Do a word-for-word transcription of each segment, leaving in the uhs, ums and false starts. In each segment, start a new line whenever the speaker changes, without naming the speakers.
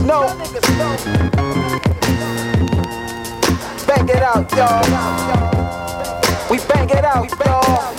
know. Bang it out, y'all. We bang it out, y'all.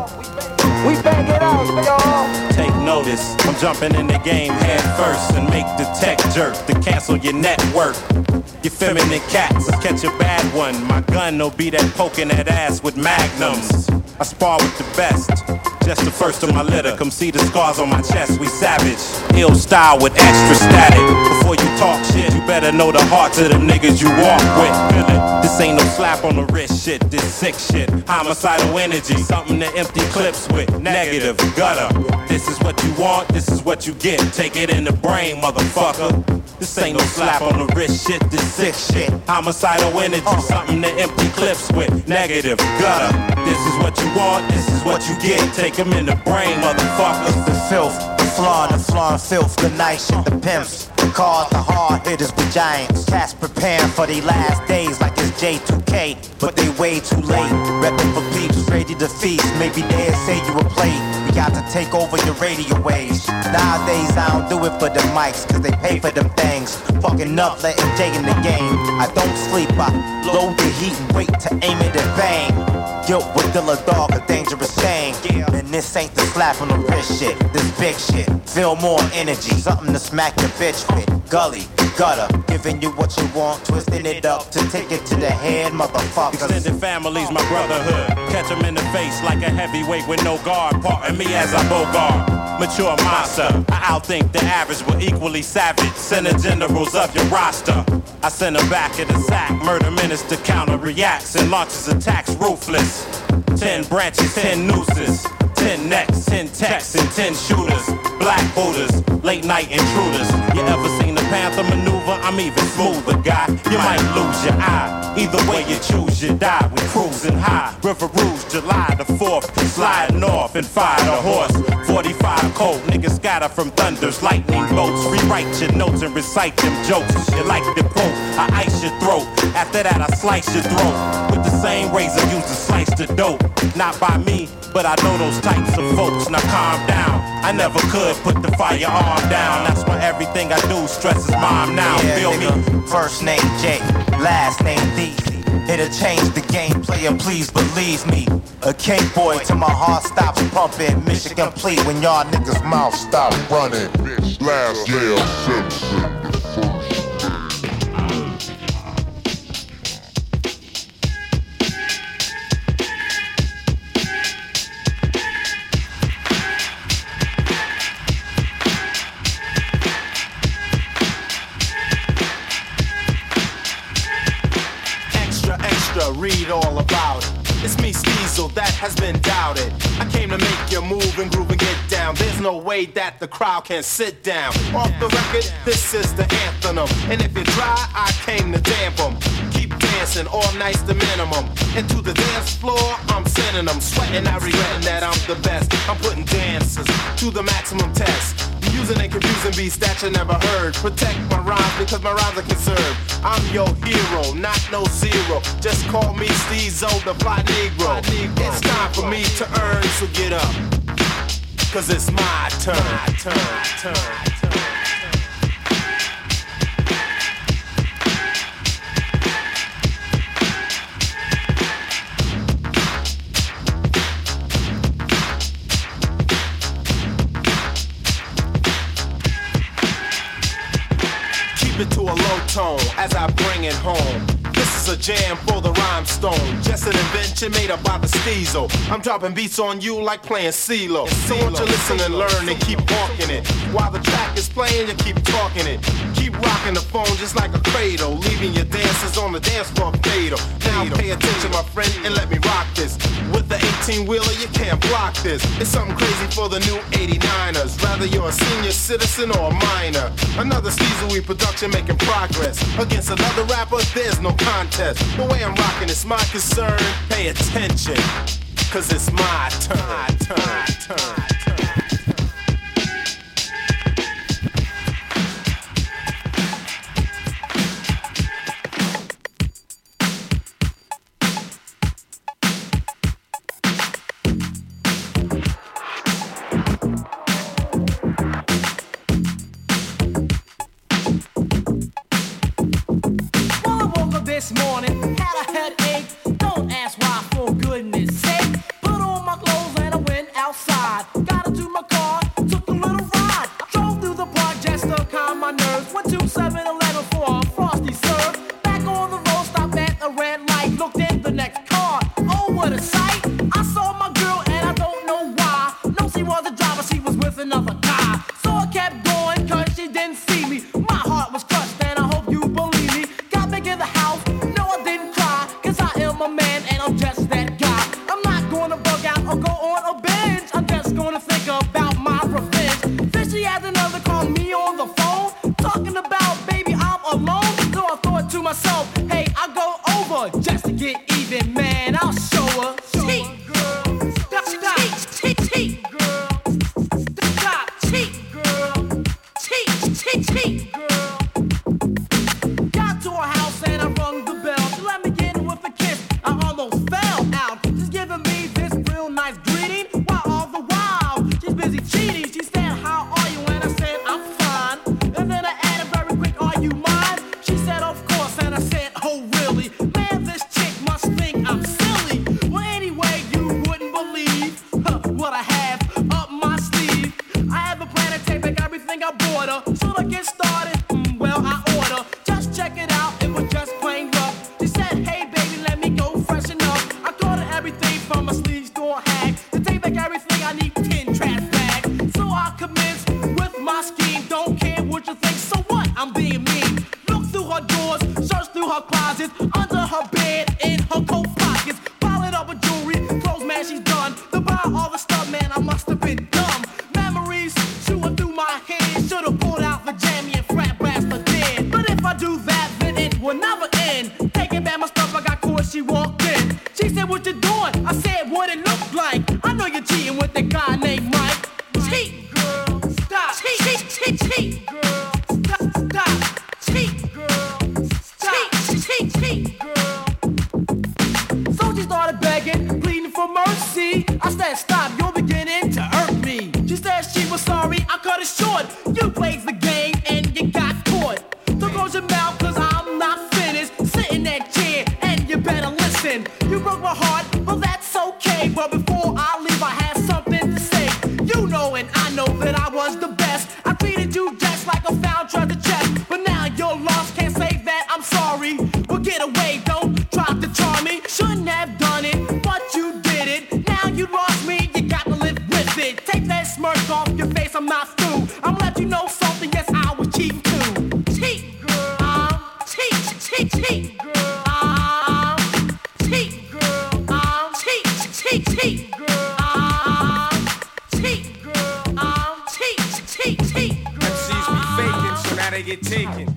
We bang it out, y'all.
Take notice, I'm jumping in the game head first and make the tech jerk to cancel your network. You feminine cats, catch a bad one. My gun will be that poking that ass with magnums. I spar with the best, just the first of my litter. Come see the scars on my chest, we savage. Ill style with extra static. Before you talk shit, you better know the hearts of them niggas you walk with. This ain't no slap on the wrist shit, this sick shit. Homicidal energy, something to empty clips with. Negative, gutter. This is what you want, this is what you get. Take it in the brain, motherfucker. This ain't no slap on the wrist shit, this sick shit. Homicidal energy, something to empty clips with. Negative, gutter. This is what you want, this is what you get. Take them in the brain, motherfuckers.
The filth, the flaw, the flaw and filth. The nice shit, the pimps, the cars, the hard hitters with giants. Cats preparing for their last days like it's J two K, but they way too late. Reppin' for peeps, ready to feast. Maybe they'll say you a play. We got to take over your radio waves. Nowadays I don't do it for the mics, cause they pay for them things. Fucking up, letting Jay in the game. I don't sleep, I load the heat and wait to aim it and bang. Guilt with Dilla Dog, a dangerous thing. And this ain't the slap on the wrist shit, this big shit. Feel more energy, something to smack your bitch with. Gully, gutter, giving you what you want, twisting it up to take it to the head, motherfuckers.
Extended families, my brotherhood. Catch them in the face like a heavyweight with no guard. Parting me as I bogart. Mature monster, I outthink the average, but equally savage. Send the generals of your roster. I send them back in the sack. Murder minister counter reacts and launches attacks ruthless. Ten branches, ten nooses. Ten necks, ten texts, and ten shooters. Black Buddhas, late night intruders. You ever seen the Panther maneuver? I'm even smoother, guy. You might lose your eye. Either way you choose, you die. We cruising high. River Rouge, July the fourth. Sliding off and fire the horse. forty-five cold, niggas scatter from thunders, lightning bolts. Rewrite your notes and recite them jokes. You like the poke, I ice your throat. After that, I slice your throat. With the same razor used to slice the dope. Not by me, but I know those types of folks. Now calm down. I never could put the firearm down. That's why everything I do stresses mom now.
Yeah,
feel
nigga.
me?
First name Jay, last name D. It'll change the game, player, please believe me. A K-boy till my heart stops pumping. Mission complete when y'all niggas mouth stop running.
Last J L Simpson.
Read all about it. It's me, Steezel, that has been doubted. I came to make you move and groove and get down. There's no way that the crowd can sit down. Off the record, this is the anthem. And if you try, I came to damp them. Keep dancing, all night's the minimum. And to the dance floor, I'm sending them. Sweating, I regretting that I'm the best. I'm putting dancers to the maximum test. Using and confusing beats that you never heard. Protect my rhymes because my rhymes are conserved. I'm your hero, not no zero. Just call me Steezo, the fly Negro. It's time for me to earn, so get up. Cause it's my turn. My turn, turn, turn. It to a low tone as I bring it home. This is a jam for the rhymestone. Just an invention made up by the Steezo. I'm dropping beats on you like playing CeeLo. So won't you listen and learn and keep walking it. While the track is playing, you keep talking it. Keep rocking the phone just like a cradle, leaving your dancers on the dance floor fatal. Now pay attention, my friend, and let me rock this. With the eighteen-wheeler, you can't block this. It's something crazy for the new eighty-niners. Rather you're a senior citizen or a minor. Another Steezo production making progress. Against another rapper, there's no contest. The way I'm rocking is my concern. Pay attention, cause it's my turn. My turn, turn.
Got to my car, took a little ride. Drove through the park just to calm my nerves. Went to seven eleven for a frosty serve. Back on the road, stopped at the red light. Looked in the next car. Oh, what a sight! I saw my girl and I don't know why. No, she was a driver, she was with another guy. So I kept going cause she didn't see me. My heart was crushed and I hope you believe me. Got back in the house, no I didn't cry. Cause I am a man and I'm just that guy. I'm not gonna bug out or go on a binge. I'm just gonna think about my revenge. Then she had another call me on the phone. Talking about baby I'm alone. So I thought to myself, hey I'll go over just to get even, man. I'll show her. Cheat, girl. Stop, stop. Cheat, cheat, girl. Stop, cheat, girl. Cheat, cheat, cheat, girl. Got to her house and I rung the bell. She let me in with a kiss. I almost fell out. She's giving me this real nice greeting. While all the while she's busy cheating. She said, how are you? And I said, I'm fine. And then I added very quick, are you mine? She said, of course. And I said, oh really? Man, this chick must think I'm silly. Well, anyway, you wouldn't believe huh, what I have up my sleeve. I have a plan to take back everything I bought her. Should I get started? Mm, well, I order. Just check it out, it was just plain rough. She said, hey baby, let me go freshen up. I got her everything from a sleeve store hag. To take back everything, I need ten trash bags. So I commence with my scheme. Don't care what you think, so what? I'm being mean. Look through her drawers, search through her closets, under her bed, in her coat pockets. Pile it up with jewelry, clothes, man, she's done. To buy all the stuff, man, I must have been dumb. Memories shooting through my head. Should've pulled out the jammy and frat blast her dead. But if I do that, then it will never end. Taking back my stuff, I got caught, she walked in. She said, what you doing? I said, what it looked like. I know you're cheating with that guy named Mike. Cheat, girl, stop. Cheat, cheat, cheat, cheat, girl, stop, stop. Cheat, girl, stop. Cheat, cheat, cheat, girl. So she started begging, pleading for mercy. I said, stop, you're beginning to hurt me. She said she was sorry, I cut it short. You played the game and you got caught. So close your mouth, cause I'm not finished. Sit in that chair and you better listen. You broke my heart, but that's okay. But before I leave, I had something to say. You know and I know that I was the best. I treated you just like a found treasure chest. But now you're lost, can't say that I'm sorry. Well, get away, don't try to charm me. Shouldn't have done it, but you did it. Now you lost me, you got to live with it. Take that smirk off your face, I'm not through. I'm gonna let you know something, yes, I was cheating too. Cheat, girl, um, cheat, cheat, cheat, girl, um, cheat, girl, um, cheat, cheat, cheat, girl, um, cheat, girl, um, cheat, cheat, cheat, girl.
M Cs be faking, so now they get taken.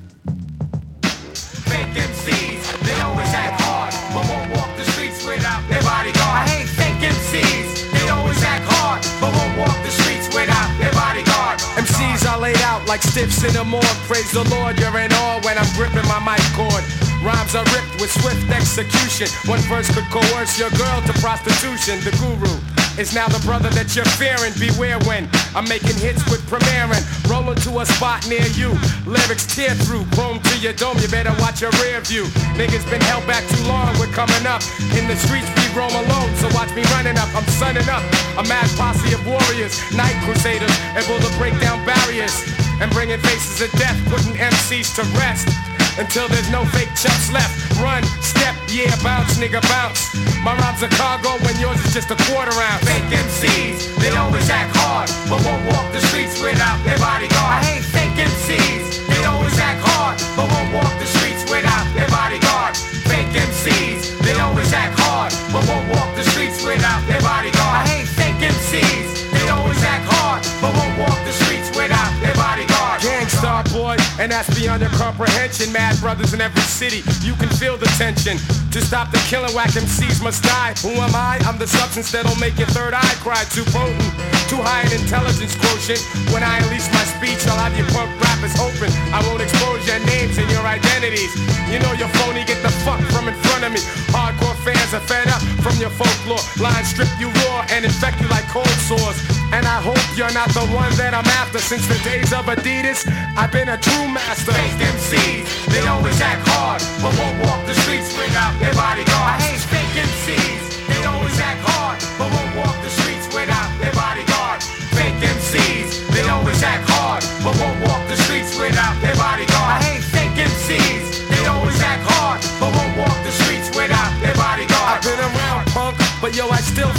Fake M Cs, they always act hard, but won't walk the streets without their bodyguard. I hate fake M Cs, they always act hard, but won't walk the streets without their bodyguard. M Cs are laid out like stiffs in the morgue. Praise the Lord, you're in awe when I'm gripping my mic cord. Rhymes are ripped with swift execution. One verse could coerce your girl to prostitution. The guru is now the brother that you're fearing. Beware when I'm making hits with premiering. Rolling to a spot near you. Lyrics tear through, chrome to your dome. You better watch your rear view. Niggas been held back too long. We're coming up. In the streets we roam alone, so watch me running up. I'm sunning up. A mad posse of warriors, night crusaders, able to break down barriers and bringing faces of death, putting M Cs to rest. Until there's no fake chumps left. Run, step, yeah, bounce, nigga, bounce. My rhymes are cargo when yours is just a quarter ounce. Fake M Cs, they always act hard, but won't walk the streets without their bodyguard. I hate fake M Cs, they always act hard, but won't walk the streets without their bodyguard. Fake M Cs, they always act hard, but won't walk the streets without their bodyguard. I hate fake M Cs, they always act hard, but won't walk the streets without their bodyguard. Gangstar boy, and that's beyond your comprehension. Mad brothers in every city, you can feel the tension. To stop the killing, whack M Cs must die. Who am I? I'm the substance that'll make your third eye cry. Too potent, too high in intelligence quotient. When I unleash my speech, I'll have your punk rappers hoping I won't expose your names and your identities. You know you're phony, get the fuck from in front of me. Hardcore fans are fed up from your folklore. Lines strip you raw and infect you like cold sores. And I hope you're not the one that I'm after. Since the days of Adidas, I've been a true master. Fake M Cs, they always act hard, but won't walk the streets without their bodyguard. I hate fake M Cs, they always act hard, but won't walk the streets without their bodyguard.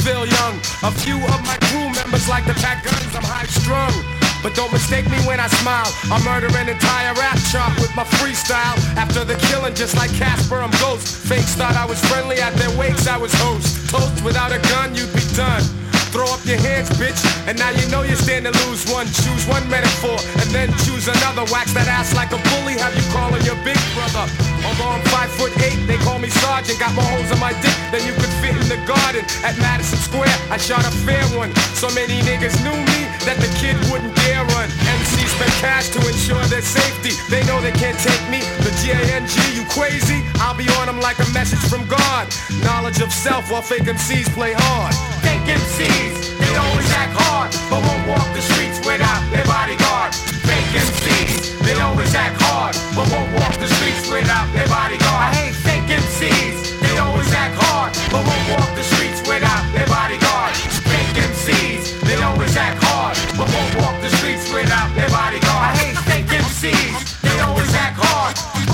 still young. A few of my crew members like to pack guns, I'm high strung. But don't mistake me when I smile. I murder an entire rap chart with my freestyle. After the killing, just like Casper, I'm ghost. Fakes thought I was friendly, at their wakes I was host. Toast without a gun, you'd be done. Throw up your hands, bitch, and now you know you stand to lose one. Choose one metaphor, and then choose another. Wax that ass like a bully, have you calling your big brother. Although I'm five foot eight, they call me Sergeant. Got more holes in my dick than you could fit in the garden. At Madison Square, I shot a fair one. So many niggas knew me that the kid wouldn't dare run. M Cs spend cash to ensure their safety. They know they can't take me. The G A N G, you crazy? I'll be on them like a message from God. Knowledge of self while fake M Cs play hard. Fake M Cs, they always act hard, but won't walk the streets without their bodyguard. Fake M Cs, they always act hard, but won't walk the streets without their bodyguard. I hate fake M Cs, they always act hard, but won't walk the streets without their bodyguard. Fake M Cs, they always act hard, but won't walk the streets without their bodyguard. I hate fake M Cs, they always act hard.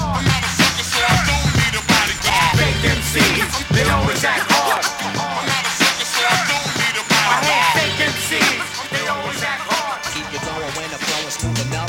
Fake M Cs, they always act hard. I hate fake M Cs, they always act hard. Keep you going when the flow is smooth enough.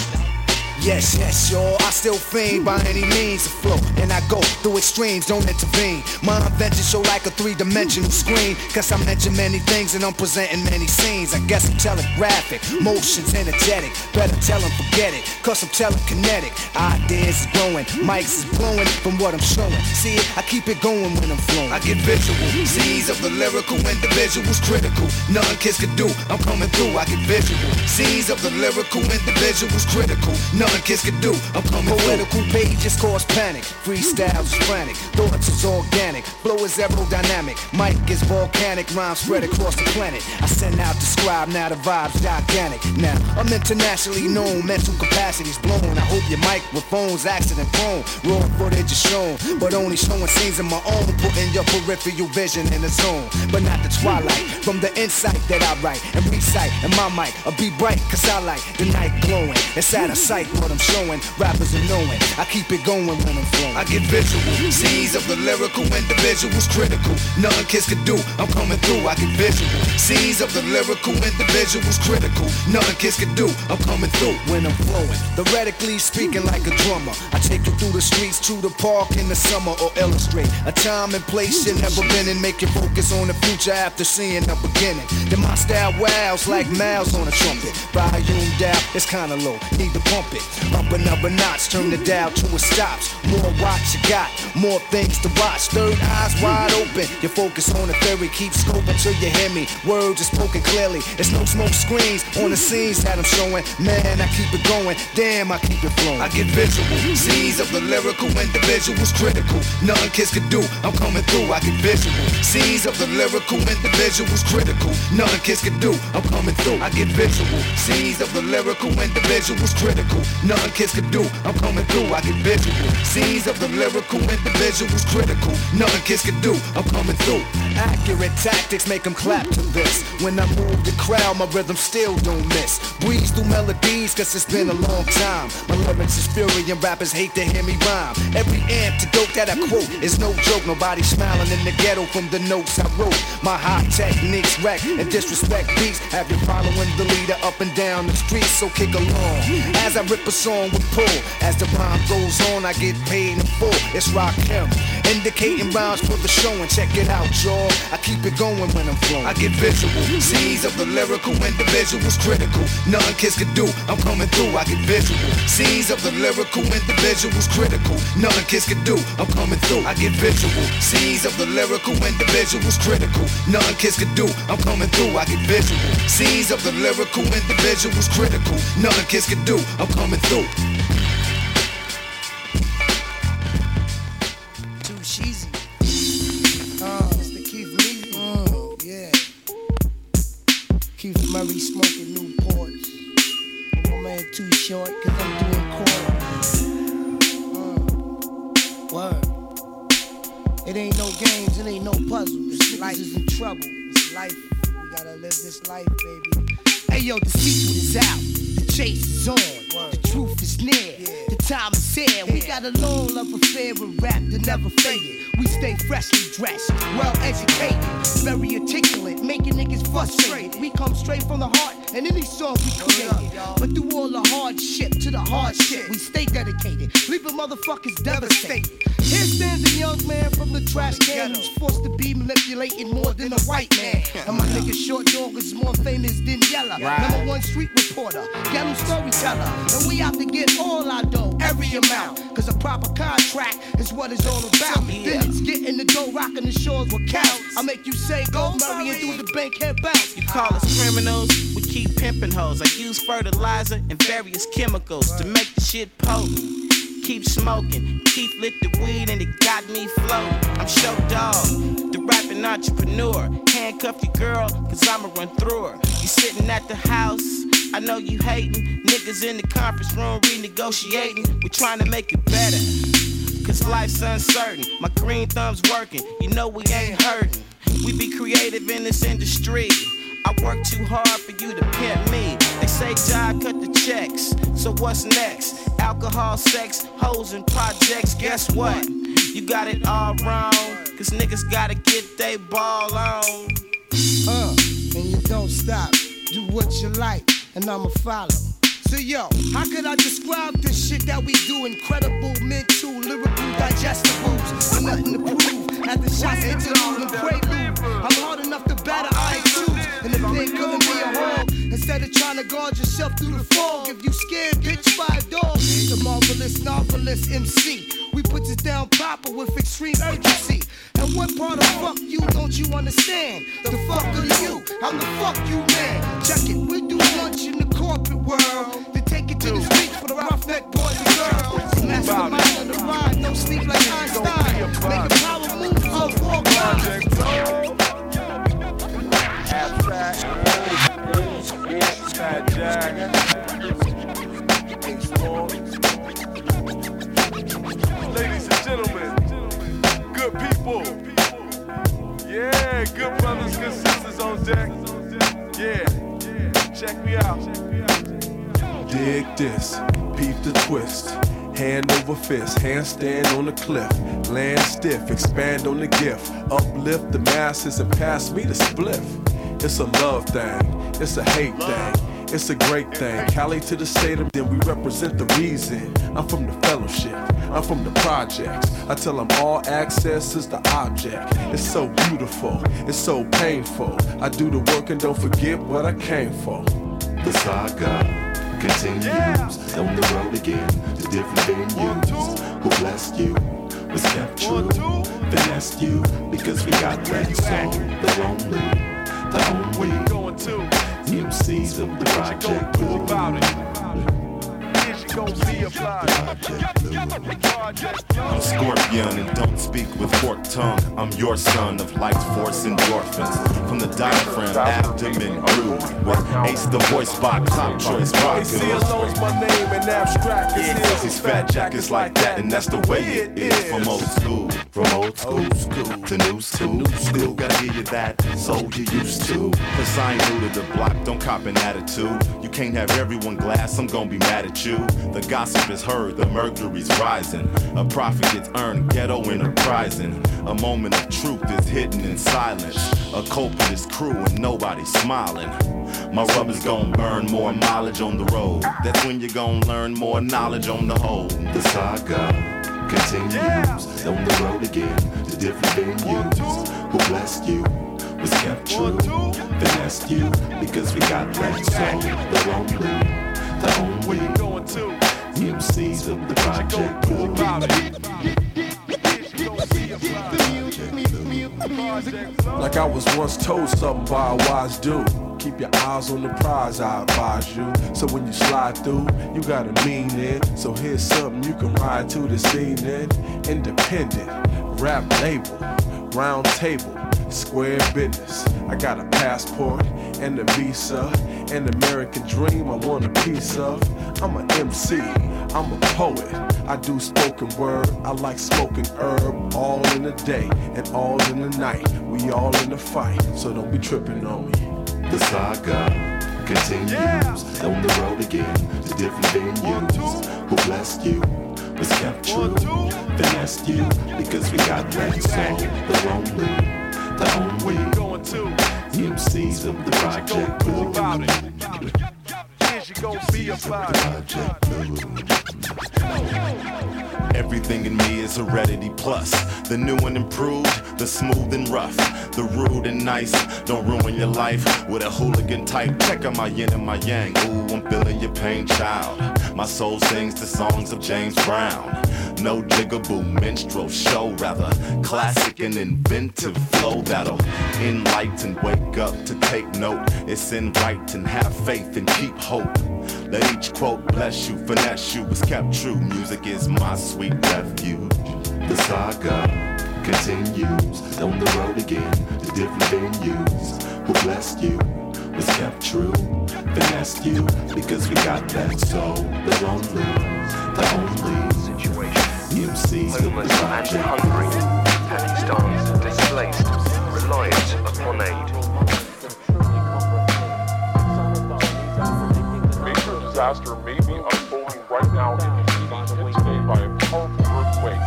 Yes, yes, y'all, I still fiend by any means afloat. And I go through extremes, don't intervene. My invention show like a three-dimensional screen. Cause I mention many things and I'm presenting many scenes. I guess I'm telegraphic, motions energetic. Better tell them forget it, cause I'm telekinetic. Ideas is growing, mics is blowing from what I'm showing. See it, I keep it going when I'm flowing. I get visual, scenes of the lyrical individuals critical. Nothing kids can do, I'm coming through, I get visual. Scenes of the lyrical individuals critical. Nothing kids can do, I'm coming Poetical through. Pages cause panic, freestyles is frantic, thoughts is organic, flow is aerodynamic, mic is volcanic, rhymes spread across the planet. I send out the scribe, now the vibe's gigantic. Now I'm internationally known, mental capacity's blown. I hope your microphone's accident prone. Raw footage is shown, but only showing scenes of my own, putting your peripheral vision in the zone. But not the twilight, from the insight that I write and recite, and my mic will be bright, cause I like the night glowing. It's out of sight what I'm showing, rappers are knowing. I keep it going when I'm flowing. I get visual, scenes of the lyrical individuals critical. Nothing kids can do, I'm coming through. I get visual, scenes of the lyrical individuals critical. Nothing kids can do, I'm coming through when I'm flowing. Theoretically speaking like a drummer, I take you through the streets, to the park in the summer, or illustrate a time and place you've never been in. Make you focus on the future after seeing the beginning. Then my style wows like mouths on a trumpet. Volume down, it's kinda low, need to pump it. Up another notch, turn the dial to a stops. More watch you got, more things to watch. Third eyes wide open, you focus on the theory. Keep scoping till you hear me, words are spoken clearly. It's no smoke screens on the scenes that I'm showing. Man, I keep it going, damn, I keep it flowing. I get visual, scenes of the lyrical individuals critical. Nothing kids can do, I'm coming through. I get visual, scenes of the lyrical individuals critical. Nothing kids can do, I'm coming through. I get visual, scenes of the lyrical individuals critical. Nothing kids can do, I'm coming through. I get visual, scenes of the lyrical individuals critical. Nothing kids can do, I'm coming through. Accurate tactics make them clap to this. When I move the crowd, my rhythm still don't miss. Breeze through melodies, cause it's been a long time. My lyrics is fury and rappers hate to hear me rhyme. Every antidote that I quote is no joke. Nobody smiling in the ghetto from the notes I wrote. My high techniques wreck and disrespect beats. Have you following the leader up and down the street, so kick along. As I rip a song with pull, as the rhyme goes on, I get paid in full. It's Rakim, indicating rhymes for the show, and check it out, y'all. I keep it going when I'm flowing. I get visual, scenes of the lyrical individuals critical. Nothing kids can do, I'm coming through. I get visual, scenes of the lyrical individuals critical. Nothing kids can do, I'm coming through. I get visual, scenes of the lyrical individuals critical. Nothing kids can do, I'm coming through. I get visual, scenes of the lyrical individuals critical. Nothing kids can do, I'm coming through.
Too cheesy. Uh, Mister Keith Lee. Oh, yeah. Keith Murray smoking Newports. My man too short, cause I'm doing chorus. Uh, word. It ain't no games, it ain't no puzzle. This life is in trouble. It's life. We gotta live this life, baby. Hey yo, the secret is out. The chase is on. Word. The truth is near. Yeah. The time is here. We got a long love affair with rap that never faded. We stay freshly dressed, well educated, very articulate, making niggas frustrated. We come straight from the heart, and any song we created. But through all the hardship to the hardship, we stay dedicated, leaving motherfuckers devastated. Here stands a young man from the trash can who's forced to be manipulated more than a white man. And my nigga Short Dog is more famous than Yella. Number one street reporter, ghetto storyteller. And we out to get all our dough, every amount. Cause a proper contract is what it's all about. Then it's getting the dough, rocking the shores with cows. I make you say go Murray and through the bank head bounce.
You call us criminals, we keep pimping hoes. I use fertilizer and various chemicals to make the shit potent. Keep smoking, keep lit the weed and it got me floating. I'm Show Dog, the rapping entrepreneur. Handcuff your girl, cause I'ma run through her. You sitting at the house, I know you hating. Niggas in the conference room renegotiating. We trying to make it better, cause life's uncertain. My green thumb's working, you know we ain't hurting. We be creative in this industry. I work too hard for you to pimp me. They say John cut the checks, so what's next? Alcohol, sex, hoes, and projects. Guess what? You got it all wrong, cause niggas gotta get they ball on.
Uh, and you don't stop. Do what you like, and I'ma follow. So yo, how could I describe this shit that we do? Incredible mental, lyrical digestibles. And nothing to prove. At the shots, interlude and prelude. I'm hard enough to batter, I ain't choose. And if they couldn't be a hog, instead of trying to guard yourself through the fog, if you scared, bitch, by a dog. The marvelous, novelist M C. We put this down proper with extreme urgency. And what part of fuck you don't you understand? The fuck are you? I'm the fuck you man. Check it, we do lunch in the corporate world. Then take it to the streets for the roughneck boys and girls. Mastermind of the ride, no sleep like Einstein. Make a power move off four lines.
Ladies and gentlemen, good people, yeah, good brothers, good sisters on deck, yeah, check me out. Dig this, peep the twist, hand over fist, handstand on the cliff, land stiff, expand on the gift, uplift the masses and pass me the spliff. It's a love thing, it's a hate thing. It's a great thing. Cali to the state of, then we represent the reason. I'm from the fellowship, I'm from the projects. I tell them all access is the object. It's so beautiful, it's so painful. I do the work and don't forget what I came for.
The saga continues, yeah. On the road again to different venues. Who blessed you was kept true, finessed you because we got that song. The lonely, the only.
Where you going to?
M Cs of the project
Blue. About it.
I'm Scorpion and don't speak with forked tongue. I'm your son of light force endorphins. From the diaphragm, abdomen grew with Ace the voice box, top choice rock.
A C alone's my name and abstract is his.
These fat jackets like that and that's the way it is. From old school, from old school, school to new school. Still gotta give you that soul you used to. Cause I ain't new to the block, don't cop an attitude. You can't have everyone glass, I'm gonna be mad at you. The gossip is heard, the mercury's rising. A profit gets earned, ghetto enterprising. A moment of truth is hidden in silence. A culprit crew and nobody's smiling. My rubber's gon' burn more mileage on the road. That's when you're gon' learn more knowledge on the whole.
The saga continues, yeah. On the road again to different venues. Who blessed you was kept true, finessed you because we got that song. The lonely, the only.
Where you going to?
M Cs of the project.
Like I was once told something by a wise dude. Keep your eyes on the prize, I advise you. So when you slide through, you gotta mean it. So here's something you can ride to this evening. Independent, rap label, round table, square business. I got a passport and a visa, an American dream I want a piece of. I'm an M C, I'm a poet, I do spoken word, I like smoking herb. All in the day and all in the night, we all in the fight, so don't be tripping on me.
The saga continues. On the road again to different venues. Who blessed you was kept true. Finessed you because we got that soul. The only, the only M Cs of the Project Blue.
You gon' be about
Everything in me is heredity plus. The new and improved, the smooth and rough, the rude and nice. Don't ruin your life with a hooligan type. Check out my yin and my yang. Ooh, I'm feeling your pain, child. My soul sings the songs of James Brown. No jigaboo minstrel show, rather classic and inventive flow that'll enlighten, wake up to take note. It's in right and have faith and keep hope. Let each quote bless you, finesse you was kept true. Music is my sweet refuge.
The saga continues. On the road again to different venues. Who blessed you was kept true. Finessed you because we got that soul. The only, the only M Cs of the Project.
Hungry, Pakistan's displaced, reliant upon aid.
Major disaster may be unfolding right now in Haiti, hit today by a powerful earthquake.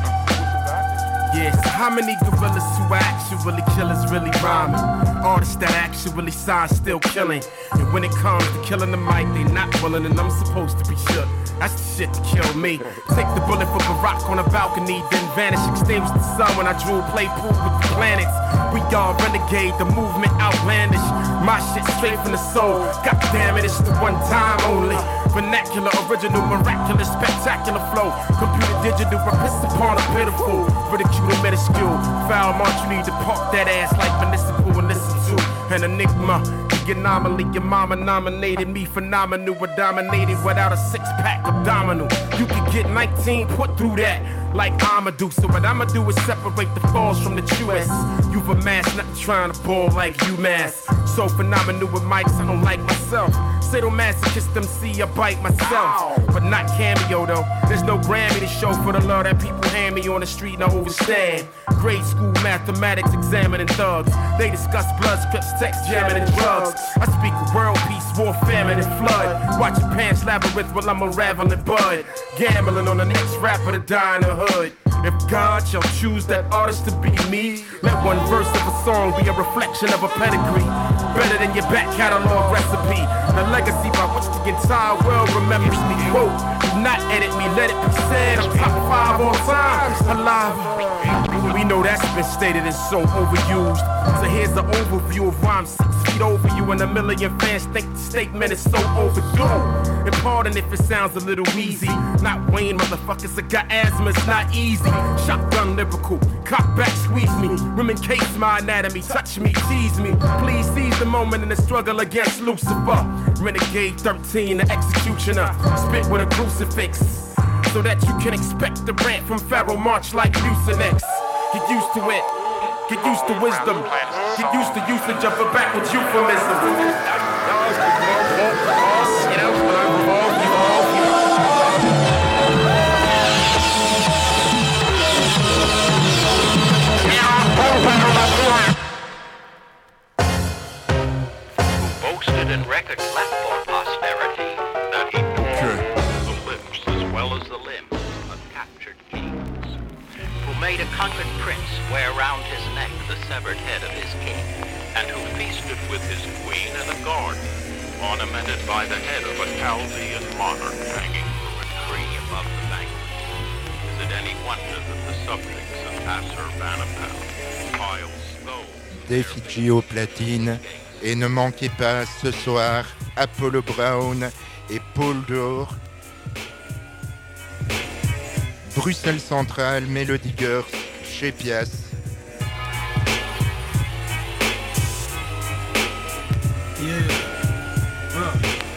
Yes, how many gorillas who actually kill is really rhyming? Artists that actually sign still killing. And when it comes to killing the mic, they not willing, and I'm supposed to be shook. That's the shit to kill me. Take the bullet for Barack on a balcony, then vanish, extinguish the sun when I drew a play pool with the planets. We all renegade, the movement outlandish. My shit straight from the soul. God damn it, it's the one time only. Vernacular, original, miraculous, spectacular flow. Computer digital, I piss upon a pitiful. Ridicule and minuscule. Foul march, you need to park that ass like municipal and listen to an enigma. The anomaly, your mama nominated me phenomenal, but dominated without a six-pack abdominal. You could get nineteen put through that like Amadou. So what I'ma do is separate the falls from the truest. You've amassed, not trying to ball like UMass. So phenomenal with mics, I don't like myself. Sadomasochist M C, I bite myself. But not cameo though. There's no Grammy to show for the love that people hand me on the street and I overstand. Grade school mathematics examining thugs. They discuss blood scripts, text jamming and drugs. I speak of world peace, war, famine and flood. Watching pants labyrinth while I'm unraveling bud. Gambling on the next rapper to die in the hood. If God shall choose that artist to be me, let one verse of a song be a reflection of a pedigree. Better than your back catalog recipe. The legacy by which the entire world remembers me. Quote, do not edit me, let it be said. I'm top five all time, alive. We know that's been stated and so overused. So here's the overview of why I'm six feet over you and a million fans think the statement is so overdue. And pardon if it sounds a little wheezy. Not Wayne, motherfuckers, I got asthma, it's not easy. Shotgun lyrical, cock back, squeeze me. Women case my anatomy, touch me, tease me. Please seize the moment in the struggle against Lucifer. Renegade thirteen, the executioner. Spit with a crucifix, so that you can expect the rant from Pharaoh March like Mucinex. Get used to it, get used to wisdom. Get used to usage of a backwards euphemism. You know,
boasted in record flat for posterity that he tore the lips as well as the limbs of captured kings, who made a conquered prince wear round his neck the severed head of his king, and who feasted with his queen in a garden ornamented by the head of a Chaldean monarch hanging from a tree above the banquet. Is it any wonder that the subjects of Assurbanipal piled stones?
D'effigie aux platines. Et ne manquez pas ce soir Apollo Brown et Paul Dore. Bruxelles Centrale, Melody Girls, chez Pias.
Yeah. Uh.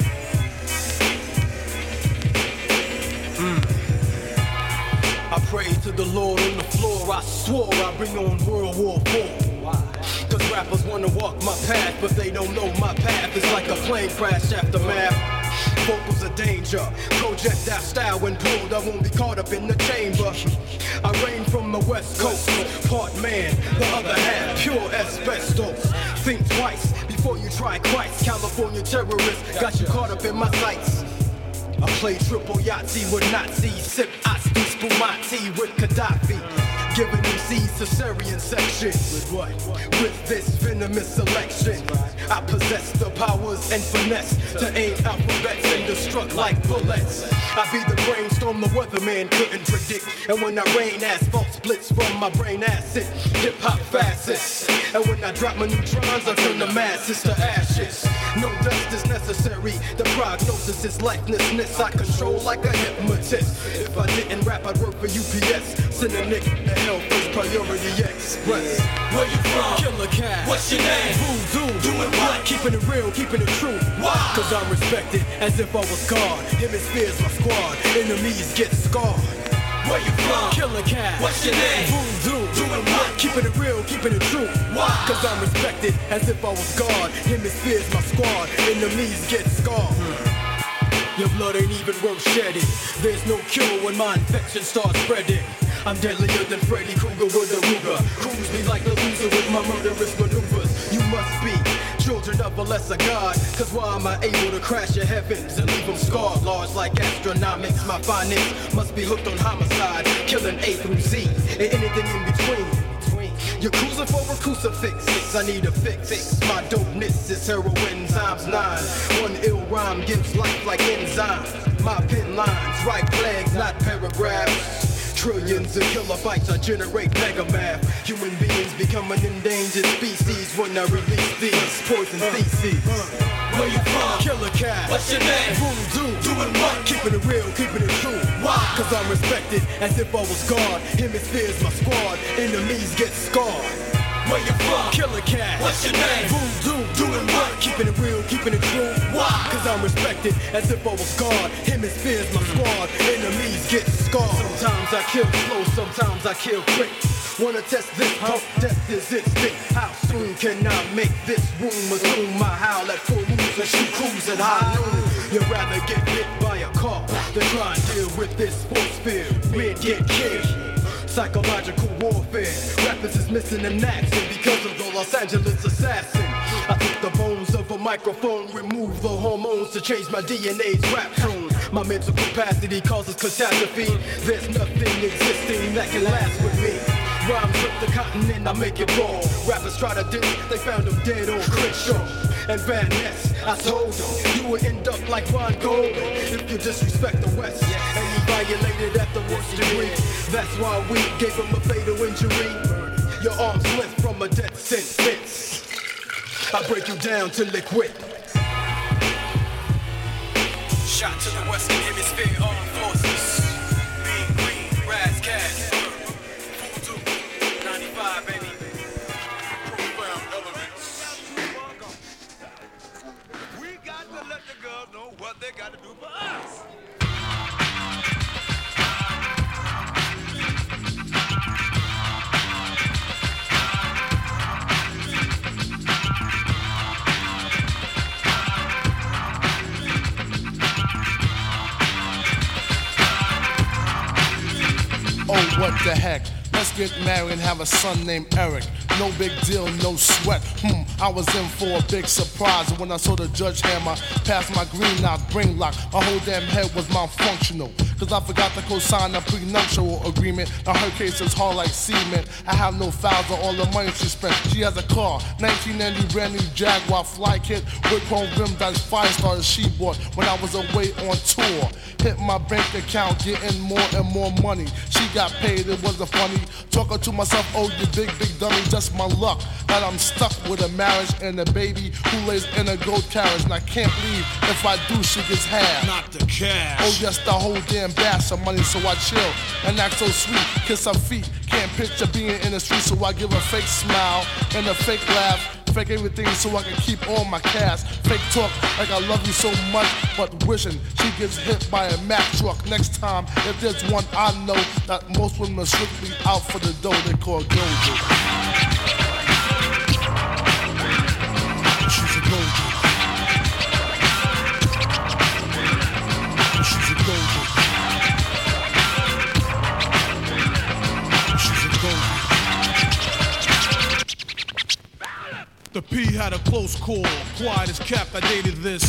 Mm. I prayed to the Lord on the floor. I swore I'd bring on World War Four. Cause rappers wanna walk my path, but they don't know my path. It's like a plane crash aftermath. Vocals are danger. Project that style when pulled, I won't be caught up in the chamber. I reign from the west coast, part man, the other half, pure asbestos. Think twice before you try Christ. California terrorists got you caught up in my sights. I play triple Yahtzee with Nazis, sip Asti Spumati with Gaddafi. Giving M Cs Caesarean section. With what? With this venomous selection. I possess the powers and finesse to aim alphabets and destruct like bullets. I be the brainstorm the weatherman couldn't predict. And when I rain, asphalt splits from my brain acid. Hip hop fascists. And when I drop my neutrons, I turn the masses to ashes. No dust is necessary. The prognosis is lifelessness. I control like a hypnotist. If I didn't rap, I'd work for U P S. Send a nigga to hell first, Priority Express. Where you from? Killer Cat. What's your name? Voodoo. Doing what? Keeping it real, keeping it true. Why? Cause I'm respected as if I was God. Hemispheres my squad. Enemies get scarred. Where you from? Killer Cat. What's your name? Voodoo. Doing what? Keeping it real, keeping it true. Why? Cause I'm respected as if I was God. Hemispheres my squad. Enemies get scarred. Your blood ain't even worth shedding. There's no cure when my infection starts spreading. I'm deadlier than Freddy Krueger with a Ruger. Cruise me like a loser with my murderous maneuvers. You must be children of a lesser god. Cause why am I able to crash your heavens and leave them scarred? Large like astronomics, my findings must be hooked on homicide. Killing A through Z and anything in between. You're cruising for a crucifix. I need a fix. My dopeness is heroin times nine. One ill rhyme gives life like enzyme. My pen lines write flags, not paragraphs. Trillions of kilobytes I generate mega math. Human beings become an endangered species when I release these poison theses. Where you from? Killer Cat. What's your name? Voodoo. Doing what? Keeping it real, keeping it true. Why? Cause I'm respected as if I was God. Hemispheres my squad. Enemies get scarred. Where you from? Killer Cat. What's your name? Voodoo. Doing what? Keeping it real, keeping it true. Why? Cause I'm respected as if I was God. Hemispheres my squad. Enemies get scarred. Sometimes I kill slow, sometimes I kill quick. Wanna test this pump, death is instinct. How soon can I make this room assume my howl at full moons and shoot crews at high noon? You'd rather get hit by a car than try and deal with this force field. Men get killed. Psychological warfare. Rappers is missing an accent because of the Los Angeles assassin. I took the bones of a microphone, remove the hormones to change my D N A's rap tone. My mental capacity causes catastrophe. There's nothing existing that can last with me. Rhymes with the continent, I make it raw. Rappers try to do it, they found him dead on Crenshaw. And Van Ness, I told him, you would end up like Ron Gold if you disrespect the West. And he violated at the worst degree. That's why we gave him a fatal injury. Your arms lift from a death sentence. I break you down to liquid. Shot to the Western Hemisphere Armed Forces. Being green, Raz Cash. ninety-five, baby. Profound elements. We got to let the girls know what they got to do for us.
Oh, what the heck? Let's get married and have a son named Eric. No big deal, no sweat. Hmm, I was in for a big surprise. And when I saw the judge hammer past my green knock, bring lock, my whole damn head was malfunctional. Cause I forgot to co-sign a prenuptial agreement. Now her case is hard like cement. I have no files on all the money she spent. She has a car, nineteen ninety brand new Jaguar fly kit with chrome rim that's five stars she bought when I was away on tour. Hit my bank account, getting more and more money. She got paid, it wasn't funny. Talking to myself, oh you big, big dummy, just my luck that I'm stuck with a marriage and a baby who lays in a gold carriage. And I can't believe if I do, she gets half.
Not the cash.
Oh yes, the whole damn bass of money, so I chill and act so sweet. Kiss her feet, can't picture being in the street, so I give a fake smile and a fake laugh. Fake everything so I can keep all my cash. Fake talk like I love you so much, but wishing she gets hit by a Mack truck. Next time, if there's one I know that most women are strictly out for the dough, they call Goldie. She's a Goldie.
P had a close call, quiet as kept, I dated this.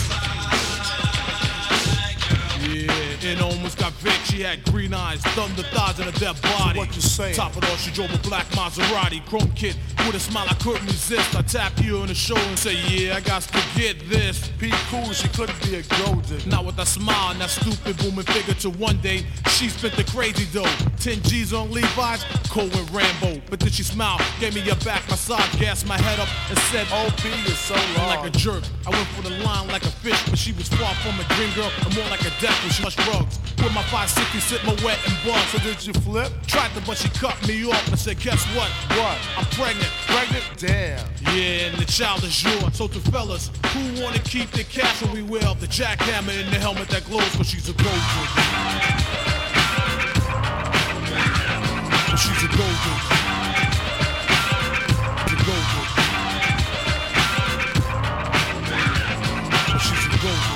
Yeah, and almost got Vic. She had green eyes, thunder thighs, and a dead body.
So what you saying?
Top it all, she drove a black Maserati, chrome kit with a smile I couldn't resist. I tapped you on the shoulder and say, yeah, I got to get this.
P cool, she couldn't be a gold digger.
Not with that smile and that stupid booming figure. Till one day she spent the crazy dough. Ten G's on Levi's, cold with Rambo. But then she smiled, gave me a back massage, gassed my head up and said,
O P is so long.
Like a jerk, I went for the line like a fish, but she was far from a dream girl and more like a death when she mushed drugs. With my five sixty sit my wet and bug.
So did you flip?
Tried to, but she cut me off and said, guess what?
What?
I'm pregnant.
Pregnant? Damn.
Yeah, and the child is yours. So to fellas who wanna keep the cash when we wear the jackhammer in the helmet that glows, cause she's a gold digger. She's a gold digger. She's a gold digger. She's a gold digger.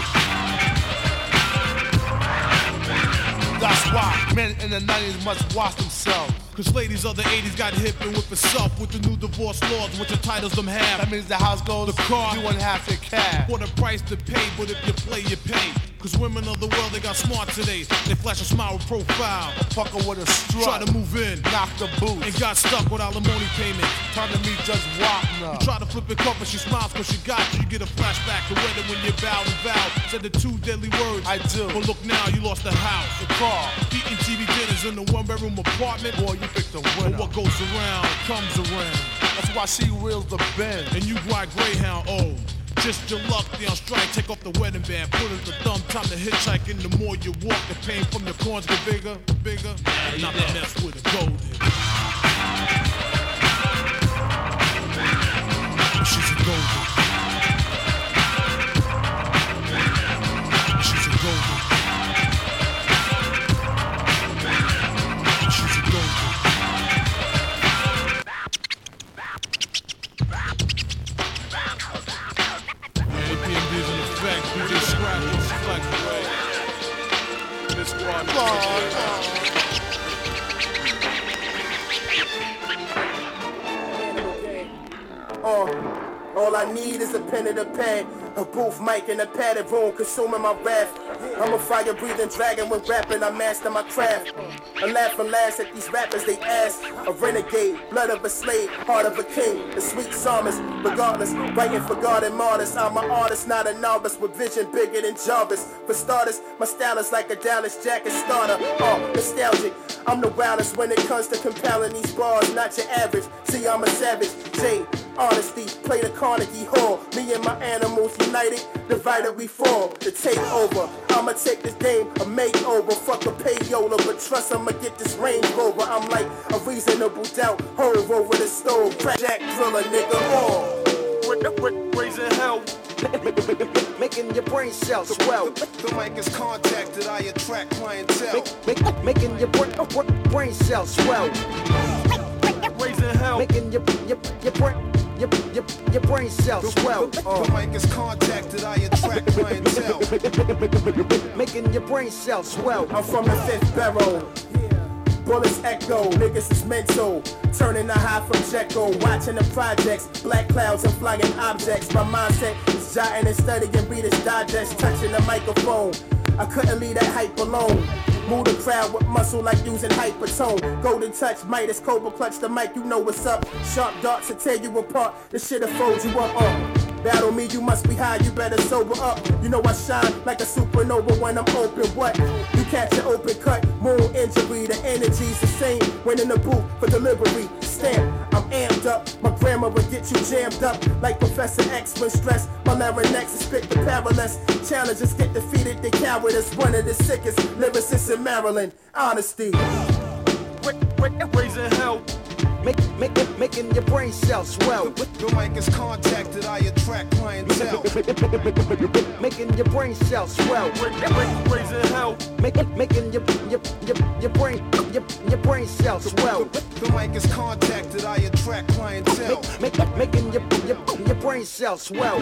That's why men in the nineties must watch themselves.
Cause ladies of the eighties got hip and whip itself with the new divorce laws, which entitles them half.
That means the house goes,
the car,
you won't have to cash.
For the price to pay, but if you play, you pay. Cause women of the world, they got smart today. They flash a smile with profile.
A fucker with a strut.
Try to move in,
knock the boots.
And got stuck with alimony payment.
Time to meet Judge Wapner.
You try to flip it cup and she smiles cause she got you. You get a flashback to wedding when you bow and vow. Said the two deadly words.
I do.
But look now, you lost the house,
the car,
eating T V dinners in the one bedroom apartment.
Boy, you picked the winner.
But what goes around comes around.
That's why she wheels the Benz.
And you ride Greyhound, oh. Just your luck, they on strike, take off the wedding band, put it the thumb, time to hitchhike, and the more you walk, the pain from your corns get bigger, bigger, and not to mess with a gold digger. She's a gold digger. She's a gold digger. She's a gold digger. You just scratch and select away. This one.
Oh, all I need is a pen and a pad, a booth mic and a padded room consuming my wrath. I'm a fire-breathing dragon when rapping, I master my craft. I laugh and laugh at these rappers, they ask. A renegade, blood of a slave, heart of a king. The sweet psalmist, regardless, writing for God and martyrs. I'm an artist, not a novice, with vision bigger than Jarvis. For starters, my style is like a Dallas Jacket starter. Oh, nostalgic, I'm the wildest when it comes to compelling these bars, not your average. See, I'm a savage, J, honesty, play the Carnegie Hall. Me and my animals united, divided we fall. To take over, I'ma take this game a makeover. Fuck a payola, but trust I'ma get this Range Rover. I'm like a reasonable doubt, hove over the stove. Crack Jack Driller, nigga, all.
With the with raising hell.
Making your brain cells swell.
The, the mic is contacted, I attract clientele.
Make, make, making your brain, uh, brain cells swell.
Raising hell.
Making your, your, your brain. Your, your, your brain cells swell.
Uh. The mic is contacted, I attract clientele.
Making your brain cells swell.
I'm from the fifth barrel. Bullets echo, niggas is mental. Turning the high from Jekyll, watching the projects. Black clouds and flying objects. My mindset is jotting and studying Reader's Digest. Touching the microphone, I couldn't leave that hype alone. Move the crowd with muscle like using hypertone. Golden touch, Midas, Cobra clutch the mic, you know what's up. Sharp darts to tear you apart, this shit'll fold you up. Uh. Battle me, you must be high, you better sober up. You know I shine like a supernova when I'm open. What? You catch an open cut, moon injury. The energy's the same when in the booth for delivery. Stamp, I'm amped up. My grammar will get you jammed up like Professor X when stressed. My larynx is spit the perilous. Challengers get defeated, they coward is one of the sickest lyricists in Maryland. Honesty.
Raising hell.
Make, make it, making your brain cells swell.
The, the mic is contacted, I attract clientele.
Making your brain cells swell.
Raising hell.
Make it, making your, your, your, your brain, your, your brain cells swell.
The, the mic is contacted, I attract clientele.
Make, make, making your, your, your brain cells swell.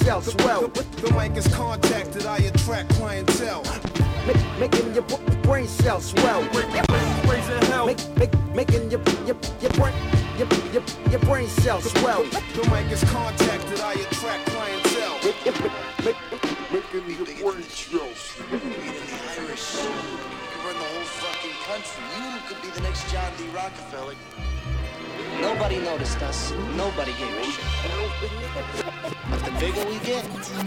cells swell. The, the, the mic is contacted, I attract clientele. Make, making your brain cells swell. Raising hell. Make, make, making your, your, your brain, your, your, your brain cells swell. The mic is contacted, I attract clientele.
Making your brain cells.
We the Irish. You can run the whole fucking country. You could be the next John D. Rockefeller. Nobody noticed us. Nobody gave a shit. But the bigger we get,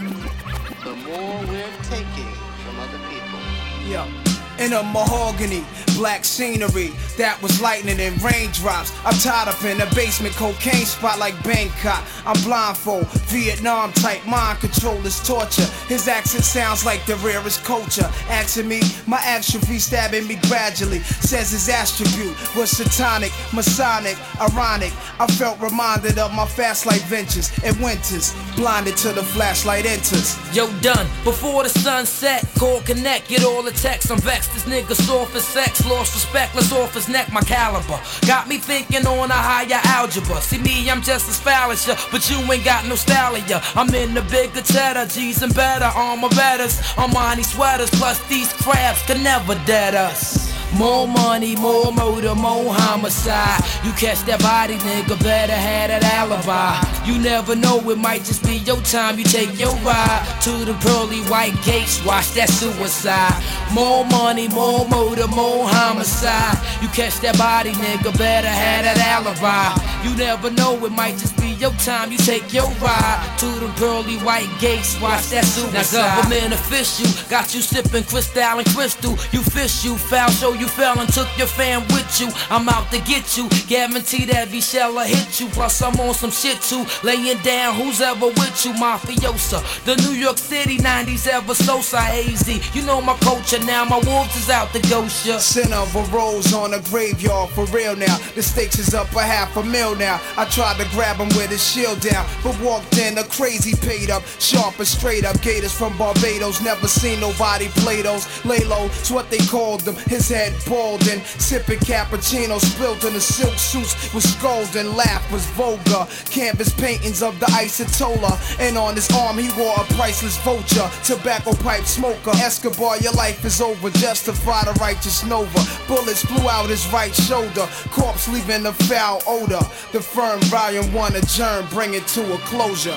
the more we're taking from other people.
Yeah. In a mahogany, black scenery that was lightning and raindrops. I'm tied up in a basement cocaine spot like Bangkok. I'm blindfold, Vietnam type mind control is torture. His accent sounds like the rarest culture. Asking me, my atrophy stabbing me gradually. Says his attribute was satanic, masonic, ironic. I felt reminded of my fast life ventures and winters. Blinded till the flashlight enters.
Yo, done before the sun set. Call connect, get all the texts. I'm vexed. This nigga soft as sex, lost respect, let's off his neck, my caliber. Got me thinking on a higher algebra. See me, I'm just as foul as ya, but you ain't got no style of ya. I'm in the bigger cheddar, G's and better, armor betters, Armani sweaters, plus these crabs can never dead us. More money, more motor, more homicide. You catch that body, nigga, better have that alibi. You never know, it might just be your time. You take your ride to the pearly white gates, watch that suicide. More money, more motor, more homicide. You catch that body, nigga, better have that alibi. You never know, it might just be your time. You take your ride to the pearly white gates, watch that suicide. Now government official got you sipping crystal and crystal. You fish, you foul, show you fell and took your fam with you. I'm out to get you, guarantee that V-Shella hit you. Plus I'm on some shit too, laying down who's ever with you, mafiosa. The New York City nineties ever so A Z. You know my culture now, my wolves is out to ghost ya.
Center of a rose on a graveyard for real now. The stakes is up a half a mil now. I tried to grab him with his shield down, but walked in a crazy paid up, sharp and straight up. Gators from Barbados, never seen nobody play those. Lay low, it's what they called them. His head bald and sipping cappuccino, spilled in the silk suits was scolding. Laugh was vulgar, canvas paintings of the Isotola, and on his arm he wore a priceless vulture. Tobacco pipe smoker, Escobar, your life is over. Justify the righteous Nova. Bullets flew out his right shoulder, corpse leaving a foul odor. The firm volume one adjourned, bring it to a closure.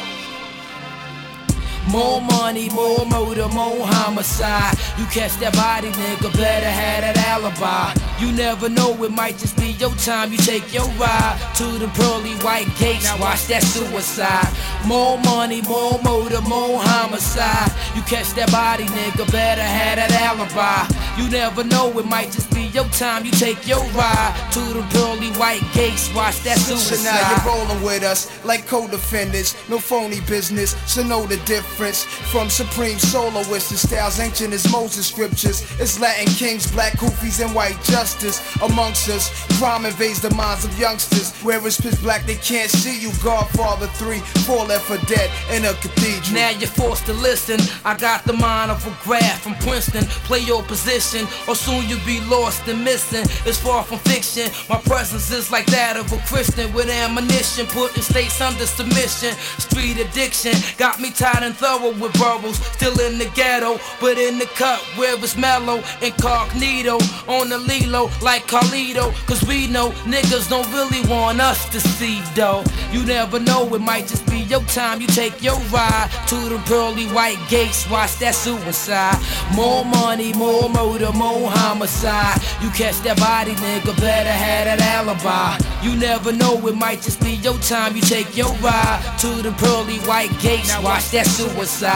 More money, more motor, more homicide. You catch that body, nigga, better have that alibi. You never know, it might just be your time. You take your ride to the pearly white gates, watch that suicide. More money, more motor, more homicide. You catch that body, nigga, better have that alibi. You never know, it might just be your time. You take your ride to the pearly white gates, watch that suicide.
So now you're rolling with us like co-defendants, no phony business, so know the difference. From supreme soloists to styles ancient as Moses scriptures. It's Latin kings, black kufis, and white justice amongst us. Crime invades the minds of youngsters. Where it's pitch black, they can't see you. Godfather three, four left for dead in a cathedral.
Now you're forced to listen. I got the mind of a graph from Princeton. Play your position, or soon you'll be lost and missing. It's far from fiction. My presence is like that of a Christian with ammunition, putting states under submission. Street addiction got me tired and thorough with bubbles, still in the ghetto, but in the cut where it's mellow, incognito, on the lilo like Carlito, cause we know niggas don't really want us to see though. You never know, it might just be your time. You take your ride to the pearly white gates, watch that suicide. More money, more motor, more homicide. You catch that body, nigga, better have that alibi. You never know, it might just be your time. You take your ride to the pearly white gates, watch that suicide.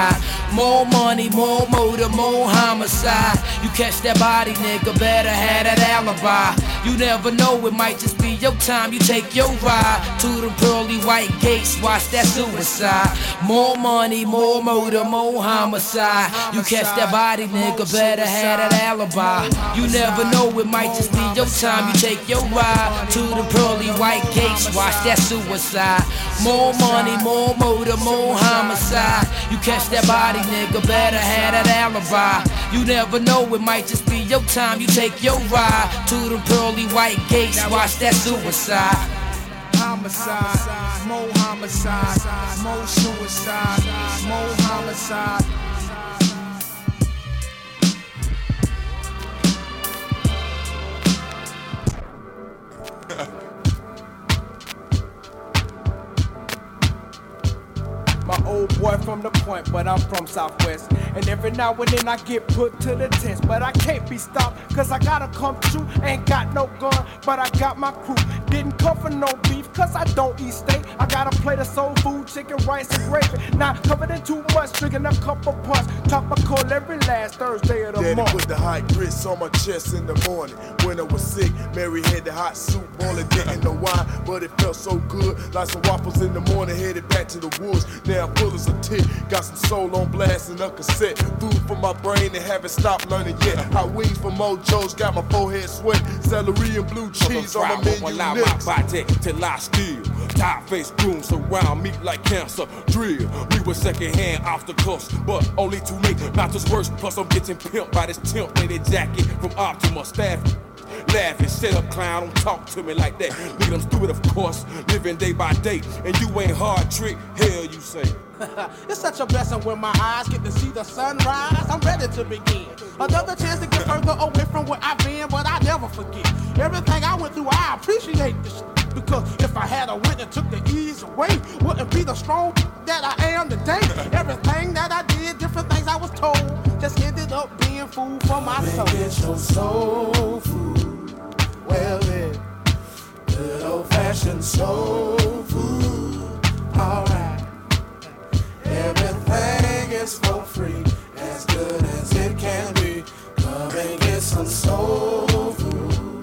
More money, more motor, more homicide. You catch that body, nigga, better have that alibi. You never know, it might just be your time. You take your ride to the pearly white gates, watch that suicide. More money, more motor, more homicide. You catch that body, nigga, better have that alibi. You never know, it might just be your time. You take your ride to the pearly white gates, watch that suicide. More money, more motor, more homicide. You catch that body, nigga, better have that alibi. You never know, it might just be your time. You take your ride to the pearly white gates, watch that suicide.
homicide, more homicide, more suicide, more homicide. My old boy from the point, but I'm from Southwest. And every now and then I get put to the test. But I can't be stopped, cause I gotta come true. Ain't got no gun, but I got my crew. Didn't come for no beef, cause I don't eat steak. I got a plate of soul food, chicken, rice, and gravy. Not covered in too much, drinking a cup of punch. Topical every last Thursday of the
Daddy
month.
put the hot grits on my chest in the morning. When I was sick, Mary had the hot soup boiling, didn't know why, but it felt so good. Like some waffles in the morning, headed back to the woods. Now I'm full as a tick, got some soul on blast and a cassette. Food for my brain and haven't stopped learning yet. Hot wings from Mojo's, got my forehead sweat. Celery and blue cheese on my menu
allow
next.
my body till I steal. Tie-faced goons surround me like cancer. Drill, we were second-hand off the coast, but only too late. Not just worse, plus I'm getting pimped by this temp-knitted jacket from Optima staff. Laughing, shut up, clown, don't talk to me like that. Look at I'm stupid, of course, living day by day. And you ain't hard trick, hell you say.
It's such a blessing when my eyes get to see the sunrise. I'm ready to begin. Another chance to get further away from where I've been, but I never forget. Everything I went through, I appreciate this. Because if I had a wit that took the ease away, wouldn't be the strong that I am today. Everything that I did, different things I was told, just ended up being food for my soul.
Get your soul food, well then, good old-fashioned soul food, alright. Everything is for free, as good as it can be. Come and get some soul food.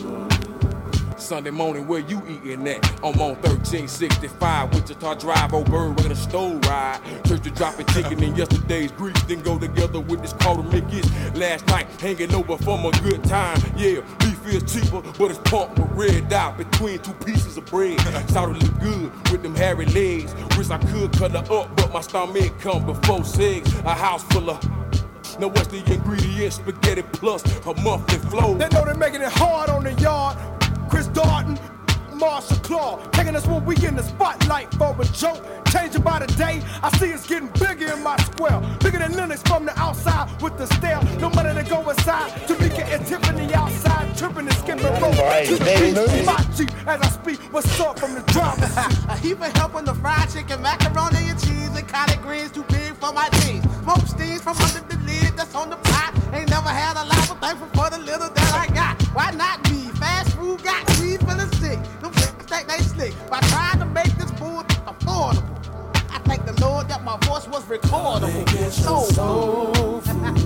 Sunday morning, where you eating at? I'm on thirteen sixty-five, Wichita Drive, old bird with a stove ride. Church to dropping chicken in yesterday's grease, then go together with this quarter Mickey's. Last night, hanging over from a good time. Yeah, beef is cheaper, but it's pumped with red dot between two pieces of bread. Sounded look good with them hairy legs. Wish I could cut her up, but my stomach come before sex. A house full of. Now what's the ingredients? Spaghetti plus a monthly flow.
They know they're making it hard on the yard. Chris Darden, Marshall Claw, taking us when we in the spotlight for a joke. Changing by the day, I see it's getting bigger in my square. Bigger than Linux from the outside with the stare. No money to go inside. Tamika and Tiffany outside, tripping and skipping rope. To the beat, my Jeep as I speak. What's up from the driver's seat?
A heap of help on the fried chicken, macaroni and cheese, and collard greens too big for my jeans. Smoke steams from under the lid that's on the pot. Ain't never had a lot, but thankful for the little that I got. Why not me? Fast food got greed for the sick. Them think they slick by trying to make this food affordable. I thank the Lord that my voice was recordable. Soul
soul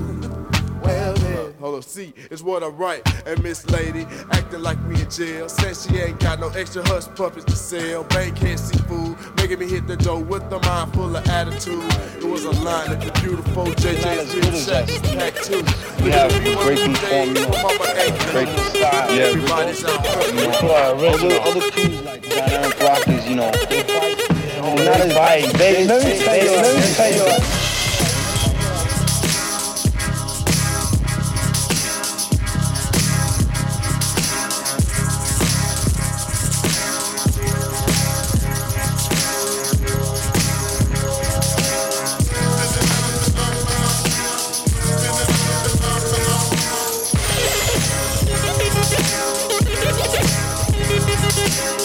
food. Well then.
Hold on, see, it's what I write. And Miss Lady acting like we in jail. Says she ain't got no extra hush puppies to sell. Bank can't see food, making me hit the door with a mind full of attitude. It was a line at the beautiful J J's Dream Shack, pack two.
We have great performance, great style. Yeah,
everybody's out.
Other, other crews like Dynamic Rockers, you know, they fight. Not as fight. They, let me tell you, let me tell you.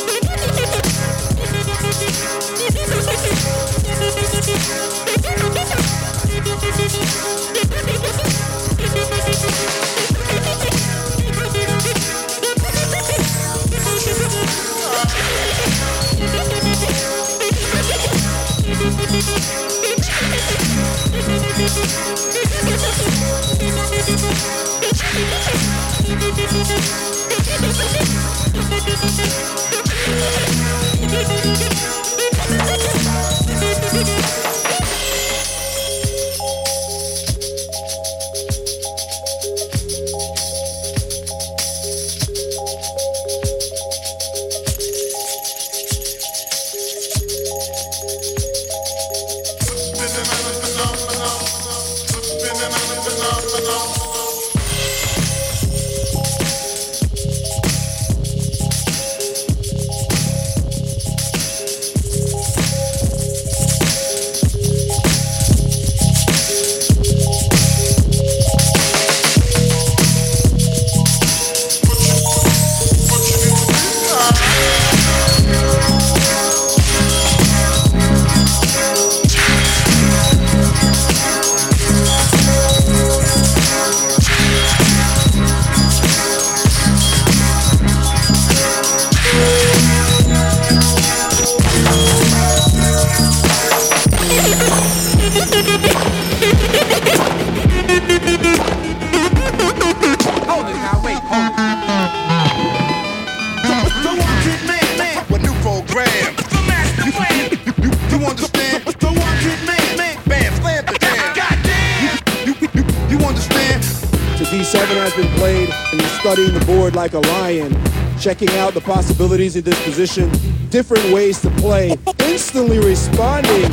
We'll be right back.
time's been played and you're studying the board like a lion, checking out the possibilities of this position, different ways to play, instantly responding.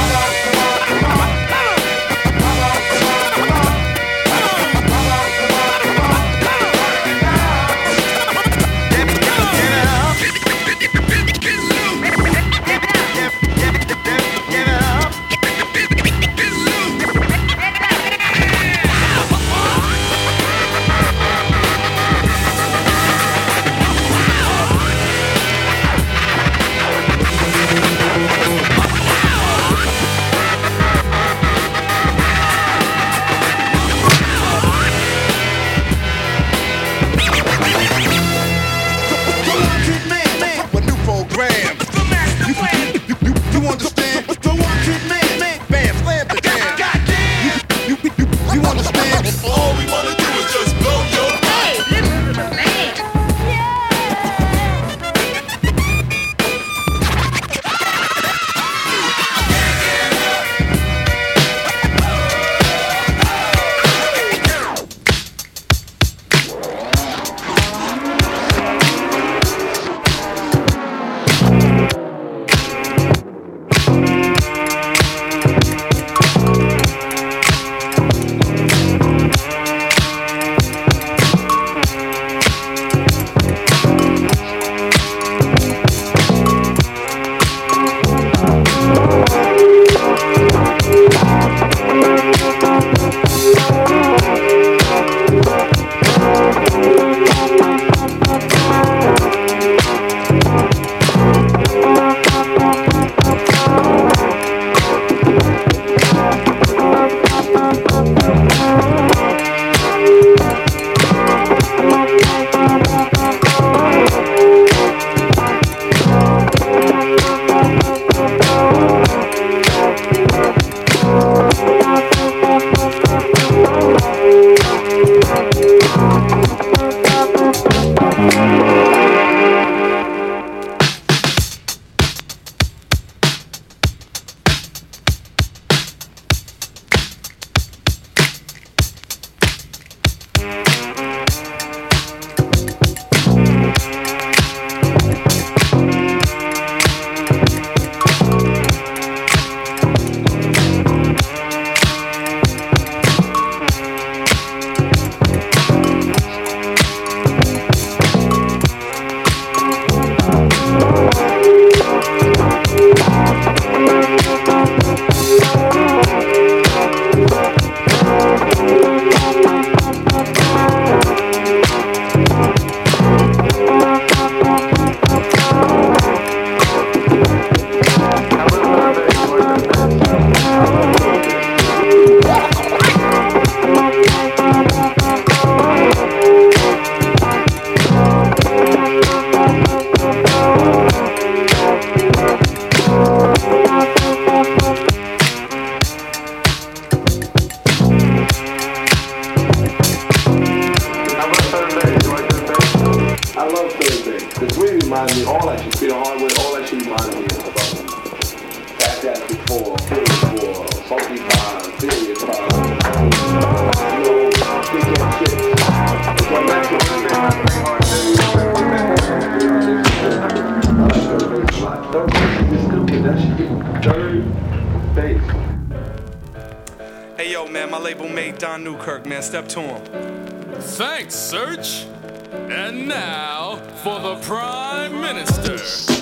Hey yo, man, my label mate Don Newkirk, man. Step to him.
Thanks, Search. And now for the Prime Minister,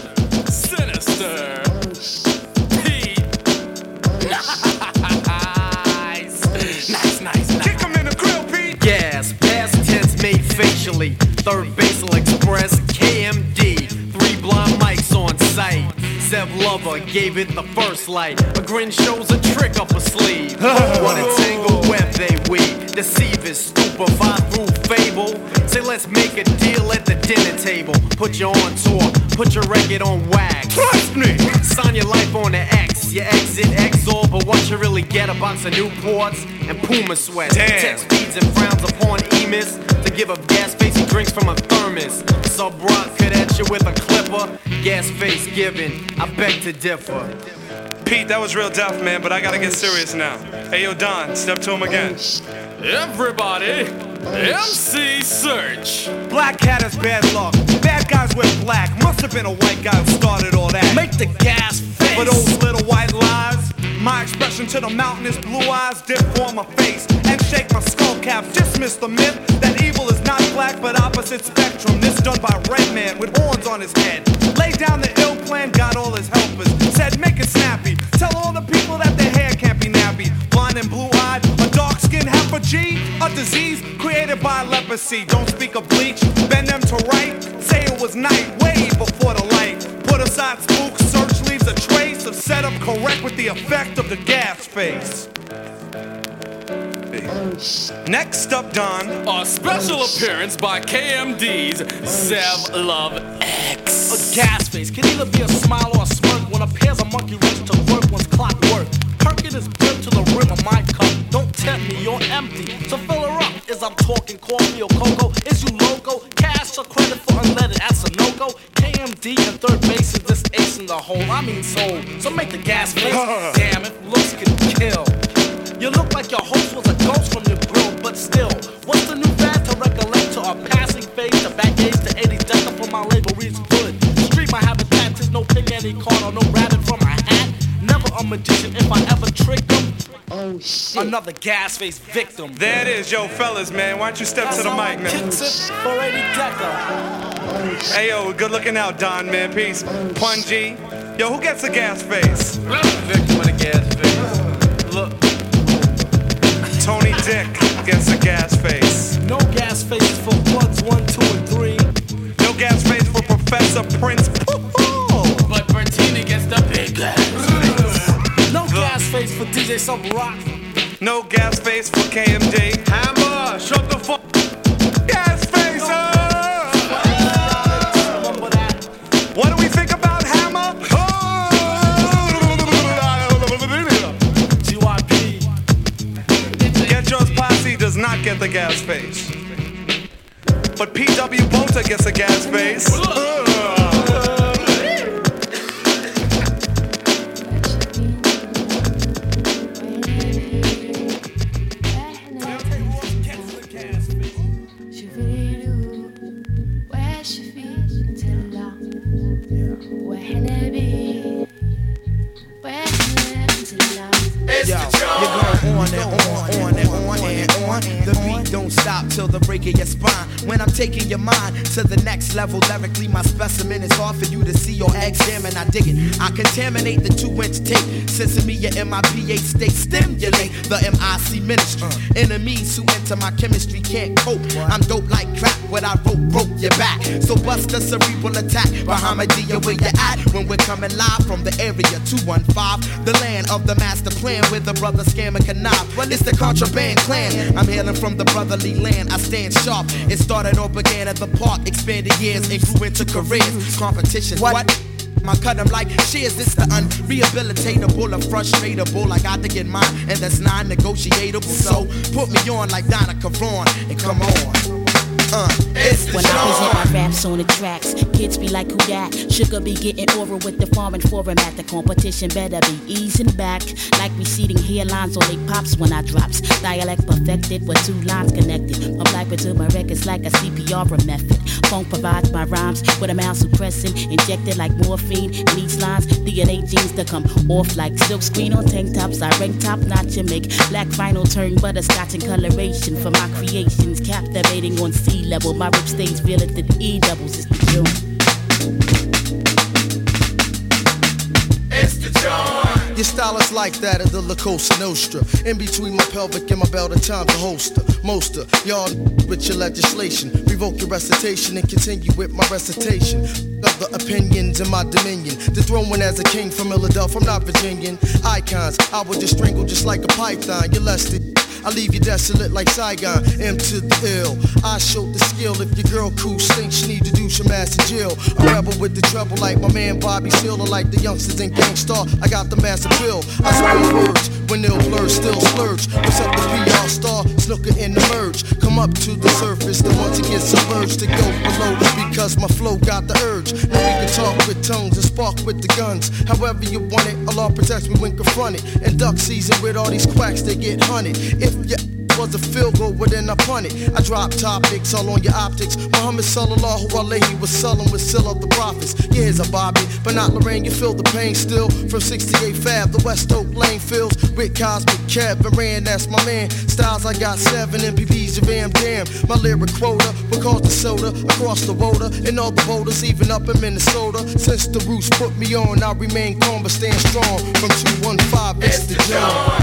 Sinister Pete.
Nice, nice, nice, nice. Kick him in the grill, Pete. Gas, past tense made facially. Third Basal Express, K M D. Three blind mics on site. Zev Lover gave it the first light. A grin shows a trick up a sleeve. What a tangled web they weave. Deceivers, stupefy through fable. Say let's make a deal at the dinner table. Put you on tour, put your record on wax. Trust me! Sign your life on the X. You exit Exor, but what you really get? A box of Newports and Puma sweats.
Damn.
Text speeds and frowns upon Emis. To give up gas face, he drinks from a thermos. Sub Rock could at you with a clipper. Gas face given, I beg to differ.
Pete, that was real deaf, man, but I gotta get serious now. Hey yo, Don, step to him again.
Everybody,
M C Search.
Black cat has bad luck. Bad guys wear black. Must have been a white guy who started all that.
Make the gas face.
For those little white lies, my expression to the mountain is blue eyes dip for my face and shake my skull cap. Dismiss the myth that evil is not black but opposite spectrum. This done by red man with horns on his head. Lay down the ill plan, got all his helpers. Said make it snappy. Tell all the people that their hair can't be nappy. Blind and blue eyed, a dark skinned heifer G, a disease created by leprosy. Don't speak of bleach, bend them to right. Say it was night, way before the light. Put aside spooks, search leaves a trace of setup correct with the effect of the gas face. Next up, Don.
A special appearance by K M D's Zev Love X.
A gas face can either be a smile or a smirk when a pair's a monkey ready to work one's clockwork. Perkin is built to the rim of my cup. Don't tempt me, you're empty. So fill her up. Is I'm talking coffee or cocoa? Is you loco? Cash or credit for unleaded? That's a no-go. K M D and third base is this ace in the hole. I mean soul. So make the gas face. Damn it, looks can kill. You look like your host was a ghost from your grill, but still, what's the new fad to recollect to a passing phase to back age to eighty decker for my label reads good. Street my habitat is no pig any card or no rabbit from my hat. Never a magician if I ever trick them. Oh shit. Another gas face victim.
There it is, yo, fellas, man. Why don't you step
That's
to the mic, man?
Kicks it for eighty decker.
Hey, yo, good looking out, Don, man. Peace. Pun G. Yo, who gets a gas face?
Victim of the gas face.
Look. Tony Dick gets a gas face.
No gas face for plugs one, two, and three.
No gas face for Professor Prince.
But Bertini gets the big gas face.
No gas face for D J Sub Rock.
No gas face for K M D. Hammer, shut the fuck. Gas face. Uh. What do we think about Hammer?
G Y P.
Get Yours Posse does not get the gas face. But P W Bolter gets a gas face.
Till the break of your spine. When I'm taking your mind to the next level, lyrically my specimen is hard for you to see or examine. I dig it. I contaminate the two-inch tape. Sensing me your M I P H state stimulate the M I C ministry. Enemies who enter my chemistry can't cope. I'm dope like crap. What I wrote broke your back. So bust a cerebral attack. Bahamadia, where you at? When we're coming live from the area two one five, the land of the master plan with the brother scam and connive. Well, it's the contraband clan. I'm hailing from the brotherly land. I stand sharp. It started or began at the park, expanded years and grew into careers. Competition, what? I cut them like shears. It's the unrehabilitatable and frustratable. I got to get mine, and that's non-negotiable. So put me on like Donna Karan and come on. Uh,
when I present my raps on the tracks, kids be like, who that? Sugar be getting over with the foreign format. The competition better be easing back. Like receding hairlines on they pops when I drops. Dialect perfected with two lines connected. I'm like to my records like a C P R method. Funk provides my rhymes with a mouse suppressing. Injected like morphine. In these lines, D N A genes to come off like silk screen on tank tops. I rank top notch and make black vinyl turn butterscotch and coloration for my creations. Captivating on C level, my rip stays real at the E doubles. It's the June.
It's the John. Your style is like that of the La Cosa Nostra. In between my pelvic and my belt, at times a holster. Most of y'all with your legislation. Revoke your recitation and continue with my recitation of the opinions in my dominion. The throne as a king from Philadelphia, I'm not Virginian. Icons, I would just strangle just like a python. You're less than I leave you desolate like Saigon, M to the ill. I showed the skill. If your girl cool stinks, she need to do some ass in jail. I rebel with the trouble like my man Bobby Seale, or like the youngsters in Gang Star. I got the massive bill. I spill words when they'll blur, still splurge. What's up the P R star? Snooker in the merge. Come up to the surface, the one to get submerged to go below. Because my flow got the urge. Now we can talk with tongues and spark with the guns. However you want it, Allah protects me when confronted. And duck season with all these quacks, they get hunted. If you was a field goal, but then I punted. I dropped topics all on your optics. Muhammad Sallallahu Alaihi Wasallam was still of the prophets. Yeah, here's a Bobby, but not Lorraine. You feel the pain still from sixty-eight Fab. The West Oak Lane fills with Cosmic Kev and Rand. That's my man. Styles I got seven M P Bs of Am Damn. My lyric quota will cause the soda across the water and all the boulders, even up in Minnesota. Since the roots put me on, I remain calm but stand strong. From two one five, it's the John.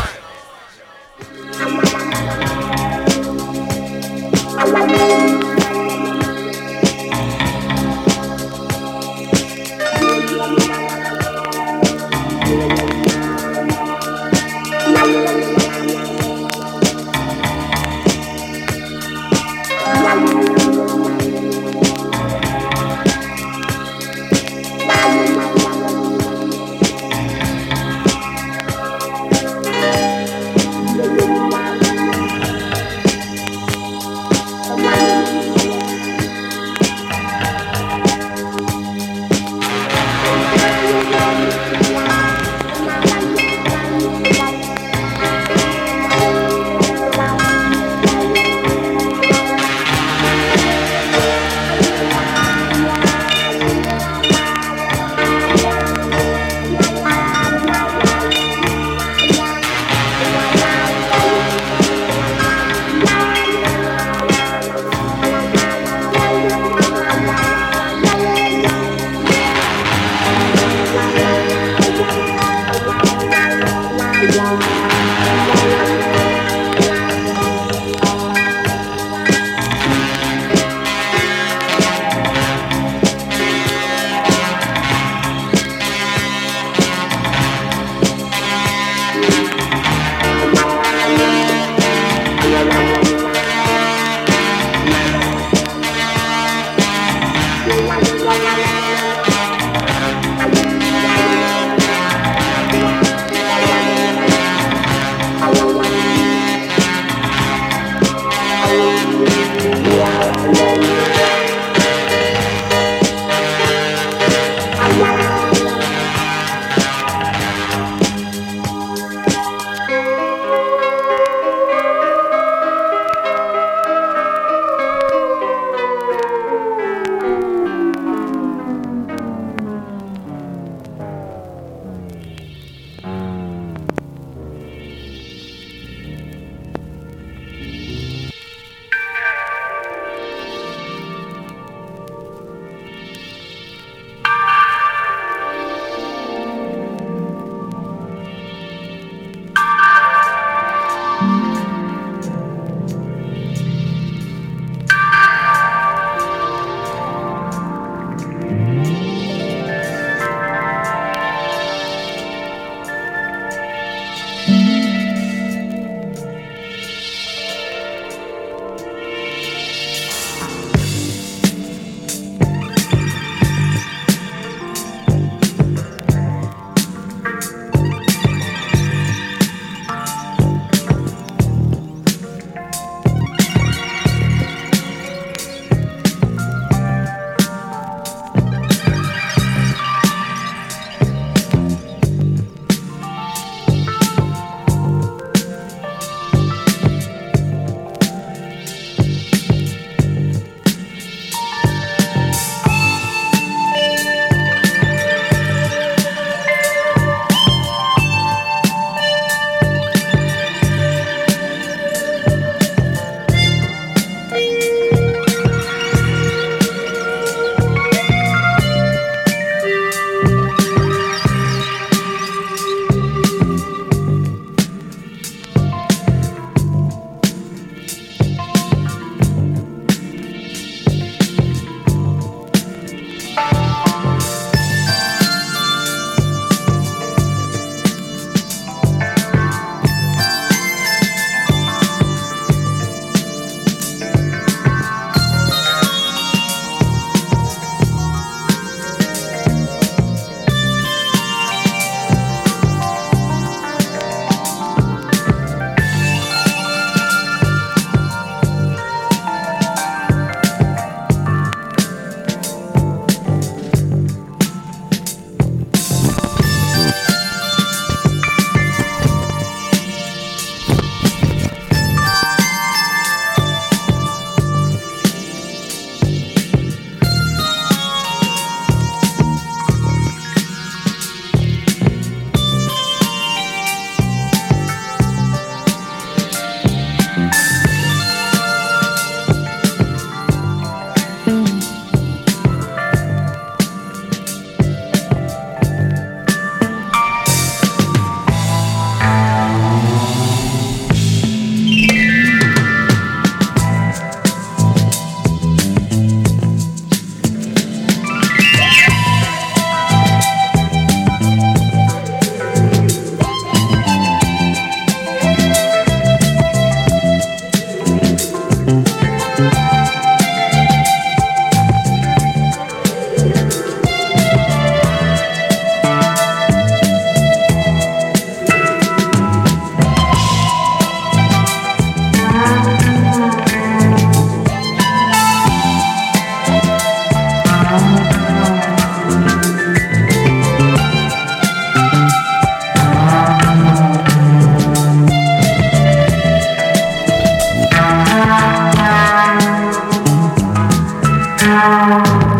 Bye.